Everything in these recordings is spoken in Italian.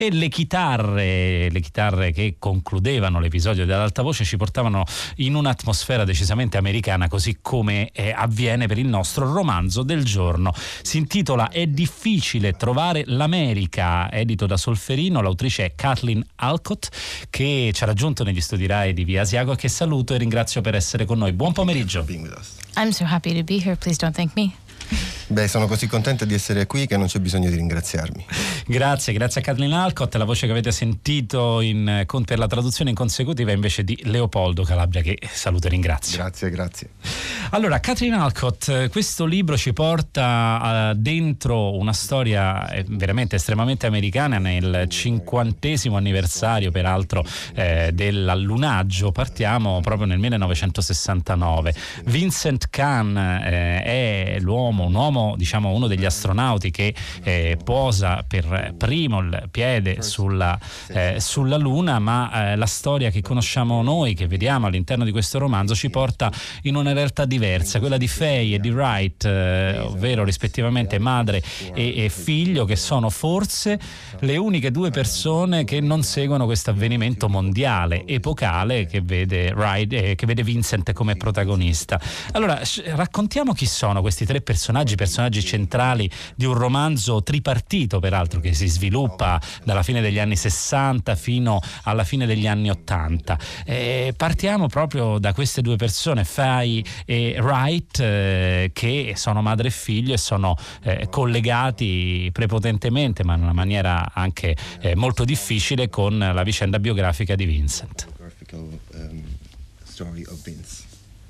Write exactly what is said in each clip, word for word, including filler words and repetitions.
e le chitarre, le chitarre che concludevano l'episodio dell'alta voce ci portavano in un'atmosfera decisamente americana, così come eh, avviene per il nostro romanzo del giorno. Si intitola È difficile trovare l'America, edito da Solferino. L'autrice è Kathleen Alcott, che ci ha raggiunto negli studi Rai di Via Asiago, che saluto e ringrazio per essere con noi. Buon pomeriggio. I'm so happy to be here. Please don't thank me. Beh, sono così contenta di essere qui che non c'è bisogno di ringraziarmi. Grazie, grazie a Kathleen Alcott. La voce che avete sentito in, per la traduzione in consecutiva è invece di Leopoldo Calabria, che saluto e ringrazio. Grazie, grazie. Allora, Kathleen Alcott, questo libro ci porta uh, dentro una storia eh, veramente estremamente americana, nel cinquantesimo anniversario peraltro eh, dell'allunaggio. Partiamo proprio nel millenovecentosessantanove. Vincent Kahn eh, è l'uomo, un uomo, diciamo uno degli astronauti che eh, posa per primo il piede sulla, eh, sulla Luna, ma eh, la storia che conosciamo noi, che vediamo all'interno di questo romanzo, ci porta in una realtà diversa, quella di Faye e di Wright, eh, ovvero rispettivamente madre e, e figlio, che sono forse le uniche due persone che non seguono questo avvenimento mondiale, epocale, che vede, Wright, eh, che vede Vincent come protagonista. Allora, raccontiamo chi sono questi tre personaggi, personaggi centrali di un romanzo tripartito, peraltro, che si sviluppa dalla fine degli anni sessanta fino alla fine degli anni ottanta. Eh, partiamo proprio da queste due persone, Faye e Wright, eh, che sono madre e figlio e sono eh, collegati prepotentemente, ma in una maniera anche eh, molto difficile, con la vicenda biografica di Vincent. Um, story of Vince.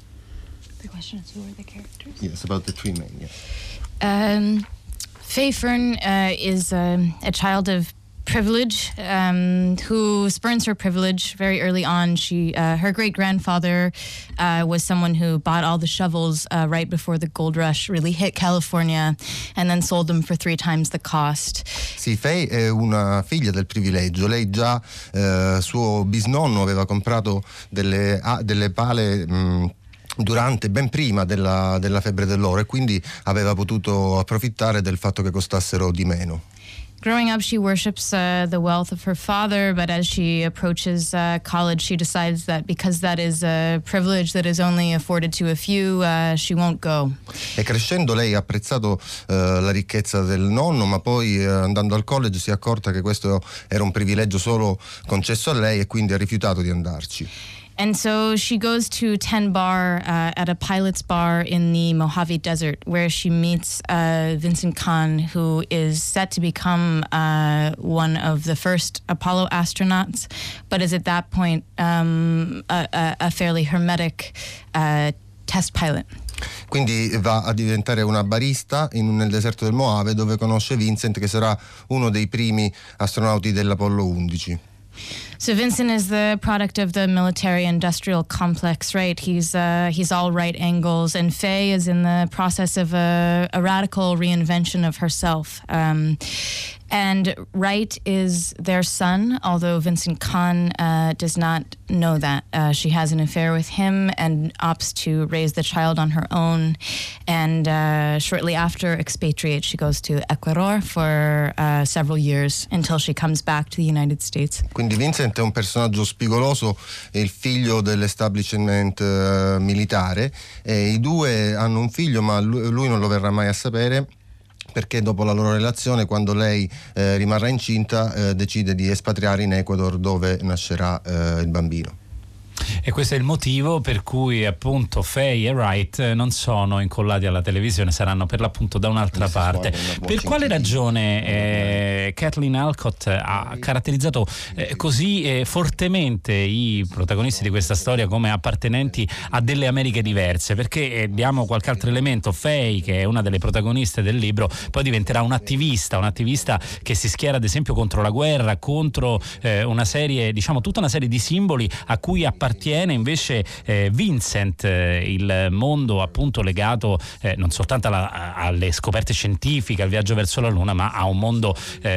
The question is, who are the characters? Yes, about the three men, yeah. Um, Faye Fern uh, is um, a child of privilege, um, who spurns her privilege very early on. She, uh, her great grandfather uh, was someone who bought all the shovels uh, right before the gold rush really hit California, and then sold them for three times the cost. Sì, Faye è una figlia del privilegio. Lei già, eh, suo bisnonno aveva comprato delle, ah, delle pale mh, durante, ben prima della, della febbre dell'oro, e quindi aveva potuto approfittare del fatto che costassero di meno. Growing up, she worships uh, the wealth of her father, but as she approaches uh, college, she decides that because that is a privilege that is only afforded to a few, uh, she won't go. E crescendo lei ha apprezzato uh, la ricchezza del nonno, ma poi uh, andando al college si è accorta che questo era un privilegio solo concesso a lei, e quindi ha rifiutato di andarci. And so she goes to Ten Bar uh, at a pilot's bar in the Mojave Desert, where she meets uh, Vincent Kahn, who is set to become uh, one of the first Apollo astronauts, but is at that point um, a, a fairly hermetic uh, test pilot. Quindi va a diventare una barista in, nel deserto del Mojave, dove conosce Vincent, che sarà uno dei primi astronauti dell'Apollo undici. So Vincent is the product of the military-industrial complex, right? He's uh, he's all right angles, and Faye is in the process of a, a radical reinvention of herself. Um, and Wright is their son, although Vincent Kahn uh, does not know that. Uh, she has an affair with him and opts to raise the child on her own. And uh, shortly after expatriate, she goes to Ecuador for uh, several years until she comes back to the United States. Quindi Vincent è un personaggio spigoloso, è il figlio dell'establishment uh, militare, e i due hanno un figlio, ma lui, lui non lo verrà mai a sapere, perché dopo la loro relazione, quando lei eh, rimarrà incinta, eh, decide di espatriare in Ecuador, dove nascerà eh, il bambino. E questo è il motivo per cui appunto Faye e Wright non sono incollati alla televisione, saranno per l'appunto da un'altra parte. Per quale ragione eh, Kathleen Alcott ha caratterizzato eh, così eh, fortemente i protagonisti di questa storia come appartenenti a delle Americhe diverse? Perché eh, diamo qualche altro elemento. Faye, che è una delle protagoniste del libro, poi diventerà un attivista, un attivista che si schiera ad esempio contro la guerra, contro eh, una serie, diciamo tutta una serie di simboli a cui appartiene invece eh, Vincent, eh, il mondo appunto legato eh, non soltanto alla, alle scoperte scientifiche, al viaggio verso la Luna, ma a un mondo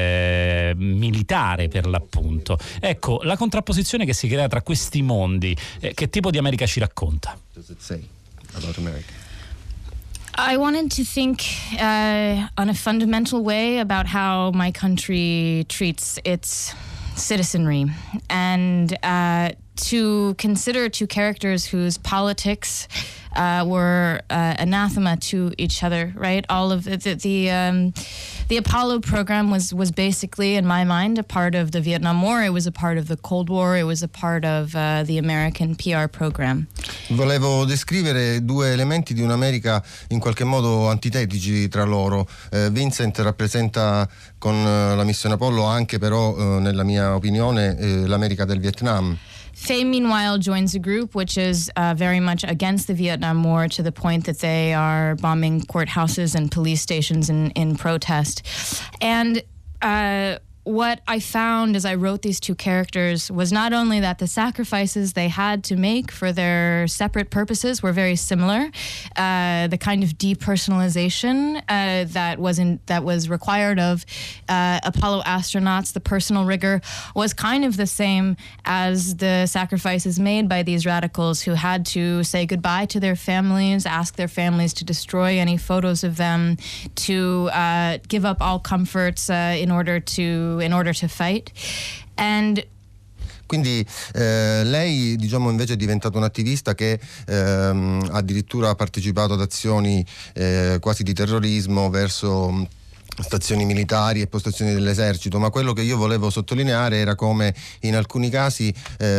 eh, militare per l'appunto. Ecco, la contrapposizione che si crea tra questi mondi, eh, che tipo di America ci racconta? Does it say about America? I wanted to think uh, on a fundamental way about how my country treats its citizenry, and uh, to consider two characters whose politics uh, were uh, anathema to each other, right? All of the the, the, um, the Apollo program was was basically, in my mind, a part of the Vietnam War. It was a part of the Cold War. It was a part of uh, the American P R program. Volevo descrivere due elementi di un'America in qualche modo antitetici tra loro. Eh, Vincent rappresenta con eh, la missione Apollo anche però, eh, nella mia opinione, eh, l'America del Vietnam. Faye, meanwhile, joins a group which is uh, very much against the Vietnam War, to the point that they are bombing courthouses and police stations in, in protest. And uh, what I found as I wrote these two characters was not only that the sacrifices they had to make for their separate purposes were very similar, uh, the kind of depersonalization uh, that was in, that was required of uh, Apollo astronauts, the personal rigor, was kind of the same as the sacrifices made by these radicals who had to say goodbye to their families, ask their families to destroy any photos of them, to uh, give up all comforts uh, in order to in order to fight. And Quindi eh, lei, diciamo, invece è diventata un'attivista che ehm, addirittura ha partecipato ad azioni eh, quasi di terrorismo verso stazioni militari e postazioni dell'esercito, ma quello che io volevo sottolineare era come in alcuni casi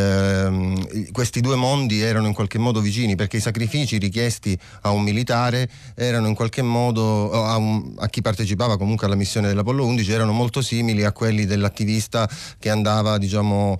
ehm, questi due mondi erano in qualche modo vicini, perché i sacrifici richiesti a un militare erano in qualche modo a, un, a chi partecipava comunque alla missione dell'Apollo undici erano molto simili a quelli dell'attivista che andava, diciamo,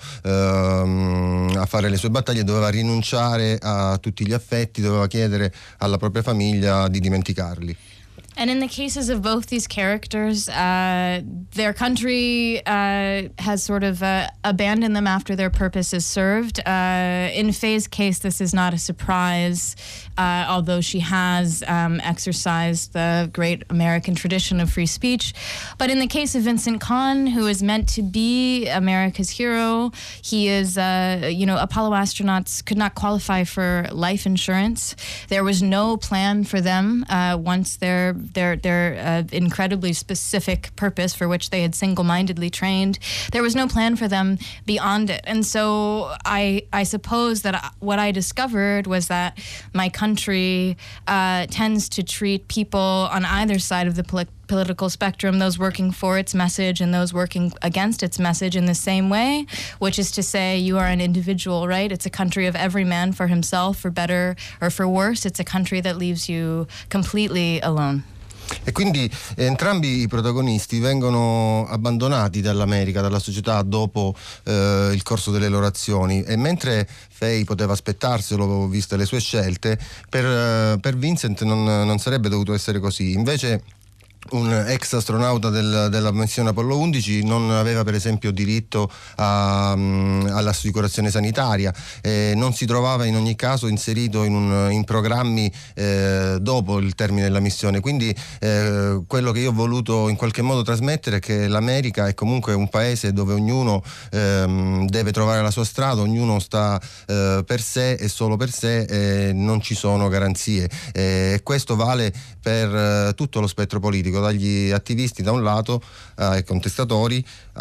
ehm, a fare le sue battaglie, doveva rinunciare a tutti gli affetti, doveva chiedere alla propria famiglia di dimenticarli. And in the cases of both these characters, uh, their country uh, has sort of uh, abandoned them after their purpose is served. Uh, in Faye's case, this is not a surprise, uh, although she has um, exercised the great American tradition of free speech. But in the case of Vincent Kahn, who is meant to be America's hero, he is, uh, you know, Apollo astronauts could not qualify for life insurance. There was no plan for them uh, once they're their their uh, incredibly specific purpose for which they had single-mindedly trained. There was no plan for them beyond it. And so I I suppose that I, what I discovered was that my country uh, tends to treat people on either side of the poli- political spectrum, those working for its message and those working against its message, in the same way, which is to say you are an individual, right? It's a country of every man for himself, for better or for worse. It's a country that leaves you completely alone. E quindi eh, entrambi i protagonisti vengono abbandonati dall'America, dalla società dopo eh, il corso delle loro azioni, e mentre Faye poteva aspettarselo viste le sue scelte, per, eh, per Vincent non, non sarebbe dovuto essere così. Invece un ex astronauta del, della missione Apollo undici non aveva per esempio diritto a, um, all'assicurazione sanitaria, eh, non si trovava in ogni caso inserito in, un, in programmi eh, dopo il termine della missione. Quindi eh, quello che io ho voluto in qualche modo trasmettere è che l'America è comunque un paese dove ognuno ehm, deve trovare la sua strada, ognuno sta eh, per sé e solo per sé, e non ci sono garanzie, e eh, questo vale per eh, tutto lo spettro politico, dagli attivisti da un lato ai contestatori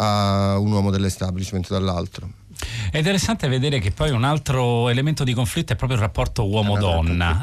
a un uomo dell'establishment dall'altro. È interessante vedere che poi un altro elemento di conflitto è proprio il rapporto uomo-donna.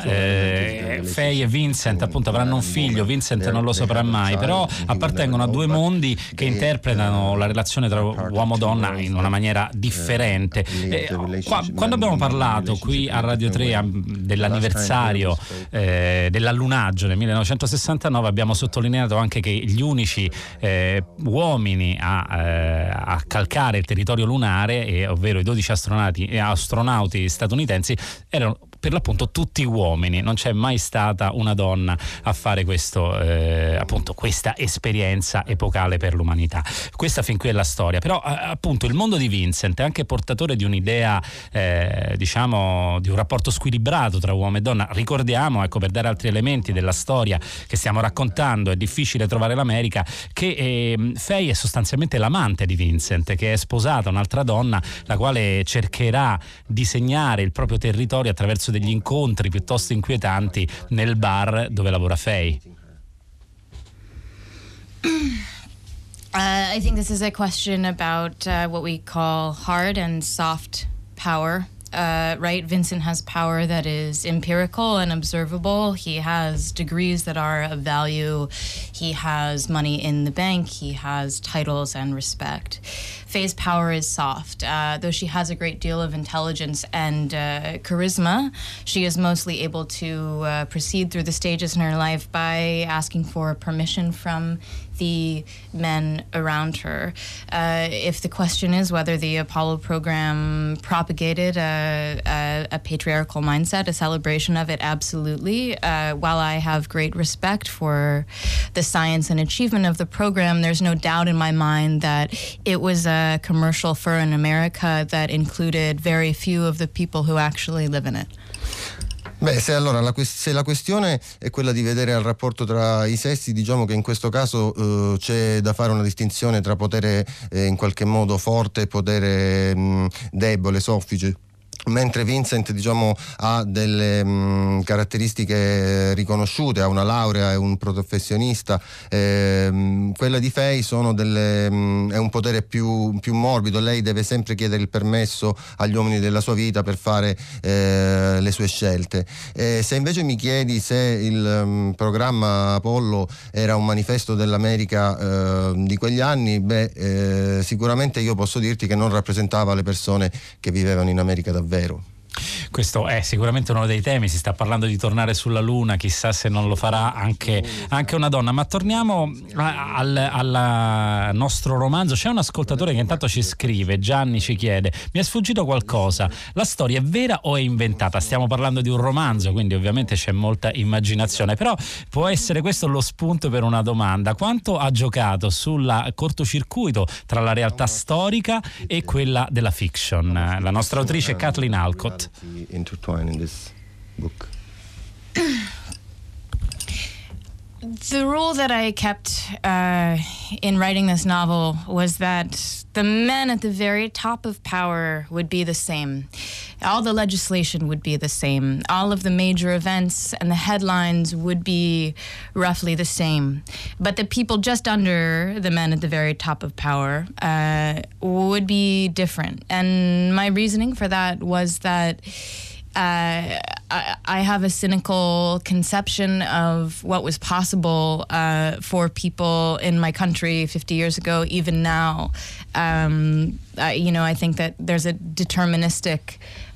eh, Faye e Vincent appunto avranno un figlio, Vincent non lo saprà mai, però appartengono a due mondi che interpretano la relazione tra uomo-donna in una maniera differente. eh, qua, quando abbiamo parlato qui a Radio tre a, dell'anniversario eh, dell'allunaggio nel millenovecentosessantanove, abbiamo sottolineato anche che gli unici eh, uomini a, eh, a calcare il territorio lunare, e ovvero i dodici astronauti e astronauti statunitensi, erano per l'appunto tutti uomini. Non c'è mai stata una donna a fare questo, eh, appunto questa esperienza epocale per l'umanità. Questa fin qui è la storia, però eh, appunto il mondo di Vincent è anche portatore di un'idea, eh, diciamo, di un rapporto squilibrato tra uomo e donna. Ricordiamo, ecco, per dare altri elementi della storia che stiamo raccontando, è difficile trovare l'America, che eh, Faye è sostanzialmente l'amante di Vincent, che è sposata a un'altra donna, la quale cercherà di segnare il proprio territorio attraverso degli incontri piuttosto inquietanti nel bar dove lavora Faye? Uh, I think this is a question about uh, what we call hard and soft power. Uh, right? Vincent has power that is empirical and observable. He has degrees that are of value. He has money in the bank. He has titles and respect. Faye's power is soft. Uh, though she has a great deal of intelligence and uh, charisma, she is mostly able to uh, proceed through the stages in her life by asking for permission from the men around her. Uh, if the question is whether the Apollo program propagated a, a, a patriarchal mindset, a celebration of it, absolutely. Uh, while I have great respect for the science and achievement of the program, there's no doubt in my mind that it was a commercial for an America that included very few of the people who actually live in it. Beh, se allora la, se la questione è quella di vedere il rapporto tra i sessi, diciamo che in questo caso eh, c'è da fare una distinzione tra potere eh, in qualche modo forte e potere mh, debole, soffice. Mentre Vincent, diciamo, ha delle mh, caratteristiche riconosciute, ha una laurea, è un professionista, ehm, quella di Faye sono delle, mh, è un potere più, più morbido. Lei deve sempre chiedere il permesso agli uomini della sua vita per fare eh, le sue scelte. E se invece mi chiedi se il mh, programma Apollo era un manifesto dell'America eh, di quegli anni, beh, eh, sicuramente io posso dirti che non rappresentava le persone che vivevano in America davvero. Vero. Questo è sicuramente uno dei temi, si sta parlando di tornare sulla Luna, chissà se non lo farà anche, anche una donna. Ma torniamo a, al, al nostro romanzo. C'è un ascoltatore che intanto ci scrive, Gianni ci chiede: mi è sfuggito qualcosa, la storia è vera o è inventata? Stiamo parlando di un romanzo, quindi ovviamente c'è molta immaginazione, però può essere questo lo spunto per una domanda: quanto ha giocato sul cortocircuito tra la realtà storica e quella della fiction? La nostra autrice Kathleen Alcott. Intertwined in this book. The rule that I kept uh, in writing this novel was that the men at the very top of power would be the same. All the legislation would be the same. All of the major events and the headlines would be roughly the same. But the people just under the men at the very top of power uh, would be different. And my reasoning for that was that Uh, I, I have a cynical conception of what was possible uh, for people in my country fifty years ago, even now. Um, I, you know, I think that there's a deterministic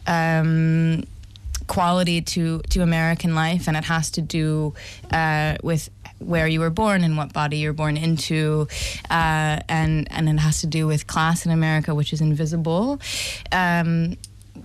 um, quality to, to American life, and it has to do uh, with where you were born and what body you're born into, uh, and, and it has to do with class in America, which is invisible. Um,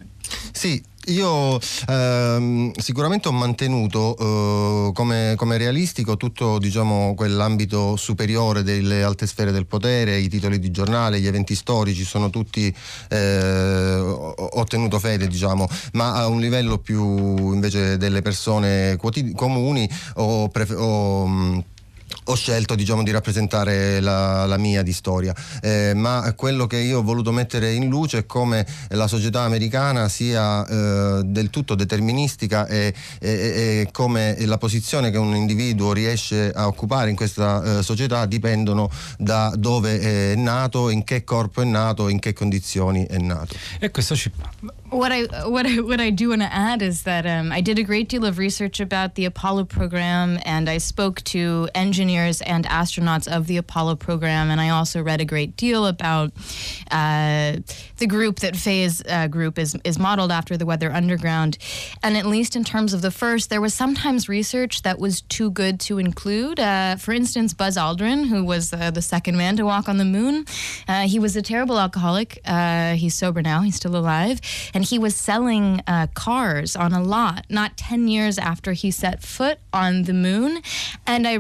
Sì, io ehm, sicuramente ho mantenuto eh, come, come realistico tutto, diciamo, quell'ambito superiore delle alte sfere del potere, i titoli di giornale, gli eventi storici sono tutti, eh, ho tenuto fede, diciamo, ma a un livello più invece delle persone quotidi- comuni ho, prefer- ho ho scelto, diciamo, di rappresentare la, la mia di storia, eh, ma quello che io ho voluto mettere in luce è come la società americana sia eh, del tutto deterministica e, e, e come la posizione che un individuo riesce a occupare in questa eh, società dipendono da dove è nato, in che corpo è nato, in che condizioni è nato. E questo ci What I what I what I do want to add is that um, I did a great deal of research about the Apollo program, and I spoke to engineers and astronauts of the Apollo program, and I also read a great deal about uh, the group that Faye's uh, group is is modeled after, the Weather Underground. And at least in terms of the first, there was sometimes research that was too good to include. Uh, for instance, Buzz Aldrin, who was uh, the second man to walk on the moon, uh, he was a terrible alcoholic. Uh, he's sober now; he's still alive. And he was selling uh, cars on a lot not ten years after he set foot on the moon. And I wrote a chapter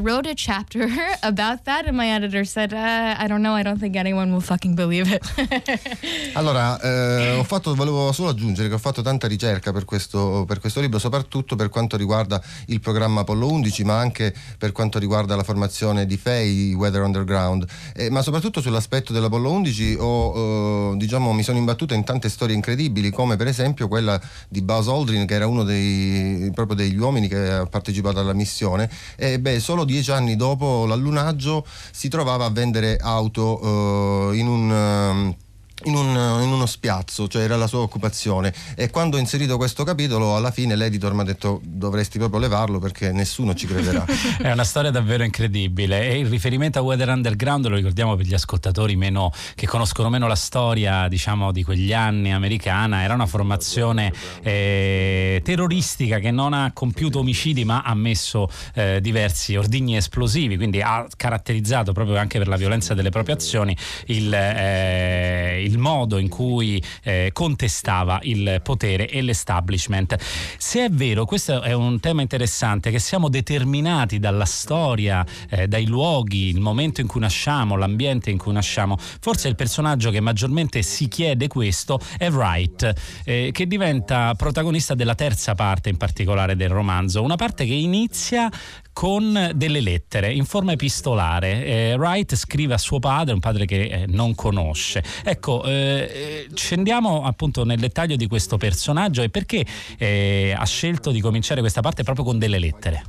chapter about that, and my editor said, uh, I don't know, I don't think anyone will fucking believe it. Allora, eh, ho fatto, volevo solo aggiungere che ho fatto tanta ricerca per questo, per questo libro, soprattutto per quanto riguarda il programma Apollo undici, ma anche per quanto riguarda la formazione di Faye, Weather Underground, eh, ma soprattutto sull'aspetto dell'Apollo undici ho, eh, diciamo, mi sono imbattuto in tante storie incredibili, come per esempio quella di Buzz Aldrin, che era uno dei, proprio degli uomini che ha partecipato alla missione, e beh, solo dieci anni dopo l'allunaggio si trovava a vendere auto eh, in un... In, un, in uno spiazzo, cioè era la sua occupazione, e quando ho inserito questo capitolo alla fine l'editor mi ha detto dovresti proprio levarlo perché nessuno ci crederà. È una storia davvero incredibile, e il riferimento a Weather Underground lo ricordiamo per gli ascoltatori meno, che conoscono meno la storia, diciamo, di quegli anni americana. Era una formazione eh, terroristica che non ha compiuto omicidi ma ha messo eh, diversi ordigni esplosivi, quindi ha caratterizzato proprio anche per la violenza delle proprie azioni il, eh, il il modo in cui eh, contestava il potere e l'establishment. Se è vero, questo è un tema interessante, che siamo determinati dalla storia, eh, dai luoghi, il momento in cui nasciamo, l'ambiente in cui nasciamo, forse il personaggio che maggiormente si chiede questo è Wright, eh, che diventa protagonista della terza parte in particolare del romanzo, una parte che inizia con delle lettere in forma epistolare. eh, Wright scrive a suo padre, un padre che eh, non conosce. Ecco, eh, scendiamo appunto nel dettaglio di questo personaggio e perché eh, ha scelto di cominciare questa parte proprio con delle lettere.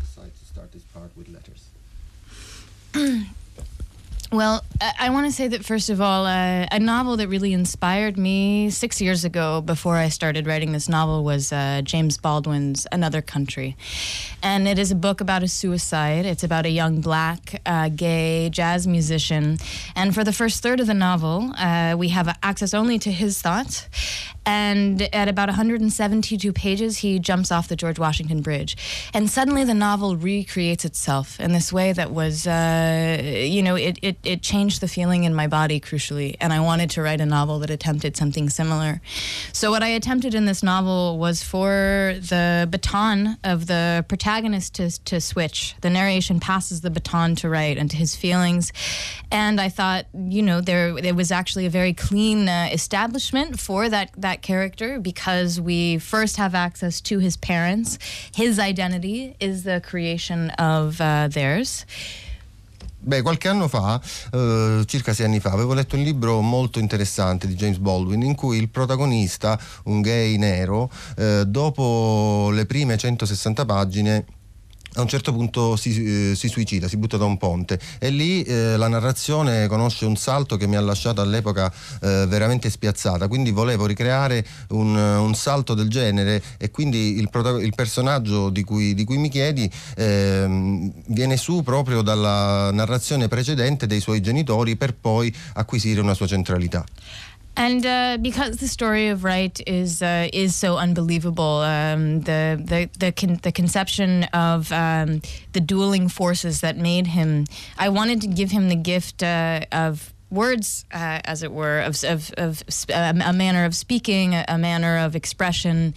Well, I want to say that, first of all, uh, a novel that really inspired me six years ago before I started writing this novel was uh, James Baldwin's Another Country. And it is a book about a suicide. It's about a young black uh, gay jazz musician. And for the first third of the novel, uh, we have access only to his thoughts. And at about one hundred seventy-two pages, he jumps off the George Washington Bridge. And suddenly the novel recreates itself in this way that was, uh, you know, it, it, it changed the feeling in my body, crucially. And I wanted to write a novel that attempted something similar. So what I attempted in this novel was for the baton of the protagonist to, to switch. The narration passes the baton to Wright and to his feelings. And I thought, you know, there, there was actually a very clean uh, establishment for that, that character, because we first have access to his parents. His identity is the creation of uh, theirs. Beh, qualche anno fa, eh, circa sei anni fa, avevo letto un libro molto interessante di James Baldwin in cui il protagonista, un gay nero, eh, dopo le prime centosessanta pagine a un certo punto si, eh, si suicida, si butta da un ponte, e lì eh, la narrazione conosce un salto che mi ha lasciato all'epoca eh, veramente spiazzata. Quindi volevo ricreare un, un salto del genere, e quindi il, protagon- il personaggio di cui, di cui mi chiedi eh, viene su proprio dalla narrazione precedente dei suoi genitori per poi acquisire una sua centralità. And uh, because the story of Wright is uh, is so unbelievable, um, the the the, con- the conception of um, the dueling forces that made him, I wanted to give him the gift uh, of words, uh, as it were, of of, of um, a manner of speaking, a, a manner of expression,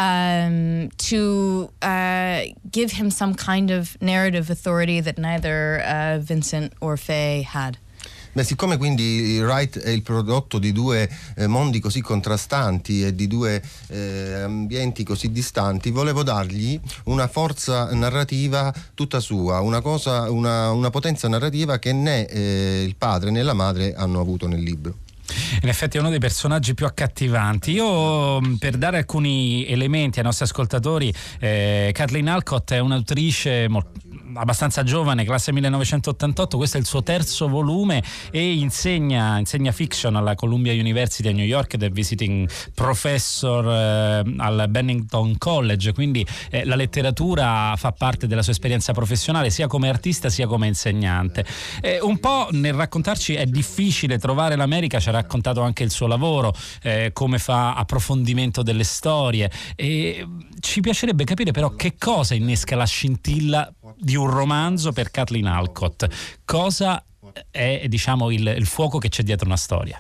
um, to uh, give him some kind of narrative authority that neither uh, Vincent or Faye had. Beh, siccome quindi Wright è il prodotto di due eh, mondi così contrastanti e di due eh, ambienti così distanti, volevo dargli una forza narrativa tutta sua, una cosa, una, una potenza narrativa che né eh, il padre né la madre hanno avuto nel libro. In effetti è uno dei personaggi più accattivanti. Io, per dare alcuni elementi ai nostri ascoltatori, eh, Kathleen Alcott è un'autrice molto abbastanza giovane, classe millenovecentottantotto, questo è il suo terzo volume, e insegna, insegna fiction alla Columbia University a New York ed è visiting professor eh, al Bennington College, quindi eh, la letteratura fa parte della sua esperienza professionale sia come artista sia come insegnante. Eh, un po' nel raccontarci è difficile trovare l'America, ci ha raccontato anche il suo lavoro, eh, come fa approfondimento delle storie, e ci piacerebbe capire però che cosa innesca la scintilla di un romanzo per Kathleen Alcott. Cosa è, diciamo, il, il fuoco che c'è dietro una storia?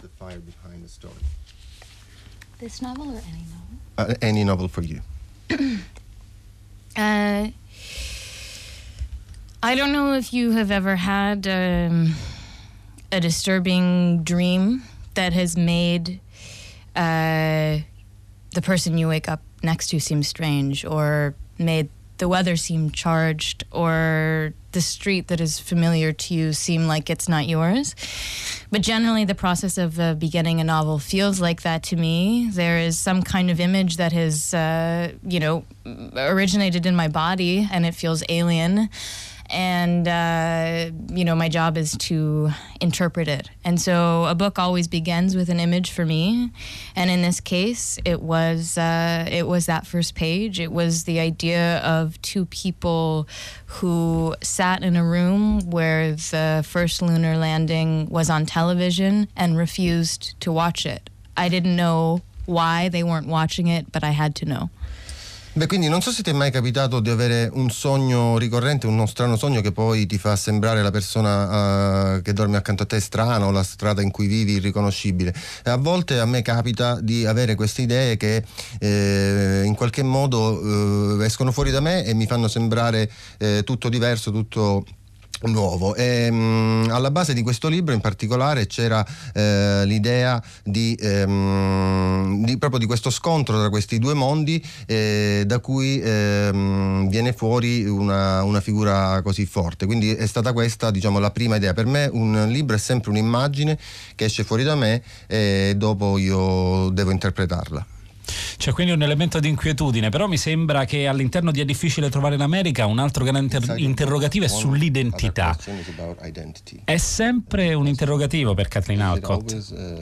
This novel or any novel? Uh, any novel for you. uh, I don't know if you have ever had um, a disturbing dream that has made uh, the person you wake up next to seem strange, or made the weather seem charged, or the street that is familiar to you seem like it's not yours. But generally the process of uh, beginning a novel feels like that to me. There is some kind of image that has, uh, you know, originated in my body, and it feels alien. And, uh, you know, my job is to interpret it. And so a book always begins with an image for me. And in this case, it was, uh, it was that first page. It was the idea of two people who sat in a room where the first lunar landing was on television and refused to watch it. I didn't know why they weren't watching it, but I had to know. Beh, quindi non so se ti è mai capitato di avere un sogno ricorrente, uno strano sogno che poi ti fa sembrare la persona uh, che dorme accanto a te strana, o la strada in cui vivi irriconoscibile. E a volte a me capita di avere queste idee che eh, in qualche modo eh, escono fuori da me e mi fanno sembrare eh, tutto diverso, tutto nuovo. E, mh, alla base di questo libro in particolare c'era eh, l'idea di, ehm, di proprio di questo scontro tra questi due mondi, eh, da cui ehm, viene fuori una, una figura così forte. Quindi è stata questa, diciamo, la prima idea. Per me un libro è sempre un'immagine che esce fuori da me e dopo io devo interpretarla. C'è quindi un elemento di inquietudine, però mi sembra che all'interno di È difficile trovare l'America un altro grande inter- interrogativo è sull'identità. È sempre un interrogativo per Kathleen Alcott.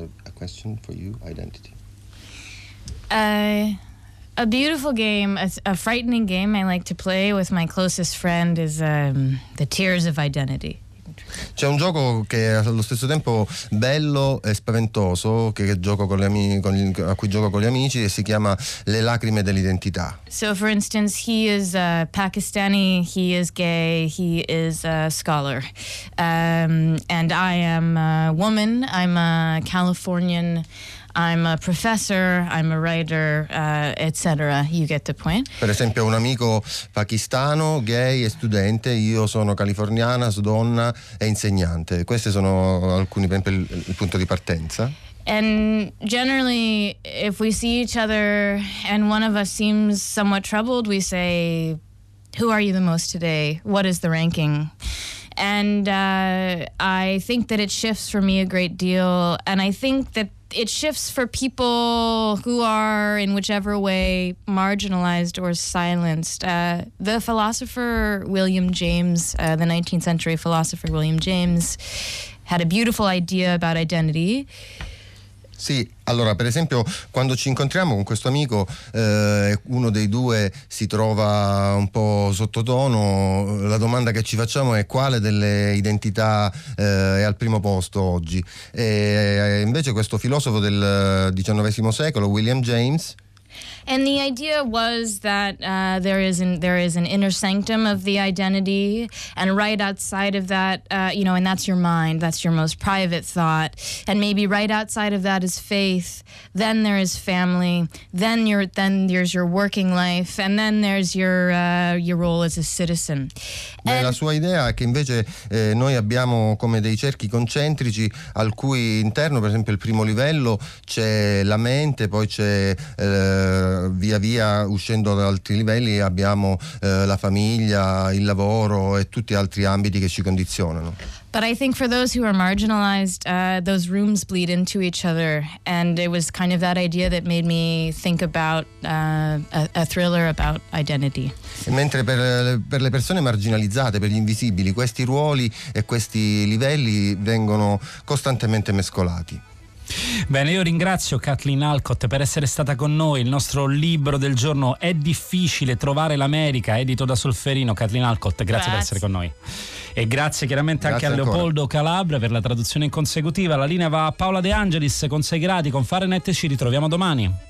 Uh, a beautiful game, a, a frightening game I like to play with my closest friend is um, the Tears of Identity. C'è un gioco che è allo stesso tempo bello e spaventoso che, che gioco con gli ami- con gli, a cui gioco con gli amici, e si chiama Le lacrime dell'identità. So for instance, he is uh, Pakistani, he is gay, he is a scholar. Um, and I am a woman, I'm a Californian, I'm a professor, I'm a writer, uh, et cetera. You get the point. Per esempio, un amico pakistano, gay e studente, io sono californiana, donna e insegnante. Questi sono alcuni, per esempio, il, il punto di partenza. And generally, if we see each other and one of us seems somewhat troubled, we say, "Who are you the most today? What is the ranking?" And uh, I think that it shifts for me a great deal, and I think that it shifts for people who are in whichever way marginalized or silenced. Uh, the philosopher William James, uh, the nineteenth century philosopher William James, had a beautiful idea about identity. Sì, allora per esempio quando ci incontriamo con questo amico, eh, uno dei due si trova un po' sottotono, la domanda che ci facciamo è quale delle identità eh, è al primo posto oggi. E invece questo filosofo del diciannovesimo secolo, William James, And the idea was that uh, there is an there is an inner sanctum of the identity, and right outside of that, uh, you know, and that's your mind, that's your most private thought, and maybe right outside of that is faith. Then there is family. Then your then there's your working life, and then there's your uh, your role as a citizen. Beh, la sua idea è che invece eh, noi abbiamo come dei cerchi concentrici al cui interno, per esempio, il primo livello c'è la mente, poi c'è eh, via via uscendo da altri livelli abbiamo eh, la famiglia, il lavoro e tutti altri ambiti che ci condizionano. But I think for those who are marginalized, uh, those rooms bleed into each other, and it was kind of that idea that made me think about uh, a, a thriller about identity. Mentre per, per le persone marginalizzate, per gli invisibili, questi ruoli e questi livelli vengono costantemente mescolati. Bene, io ringrazio Kathleen Alcott per essere stata con noi. Il nostro libro del giorno È difficile trovare l'America, edito da Solferino. Kathleen Alcott, grazie, grazie per essere con noi. E grazie chiaramente grazie anche a Leopoldo ancora. Calabria per la traduzione in consecutiva. La linea va a Paola De Angelis con sei gradi con Fahrenheit. Ci ritroviamo domani.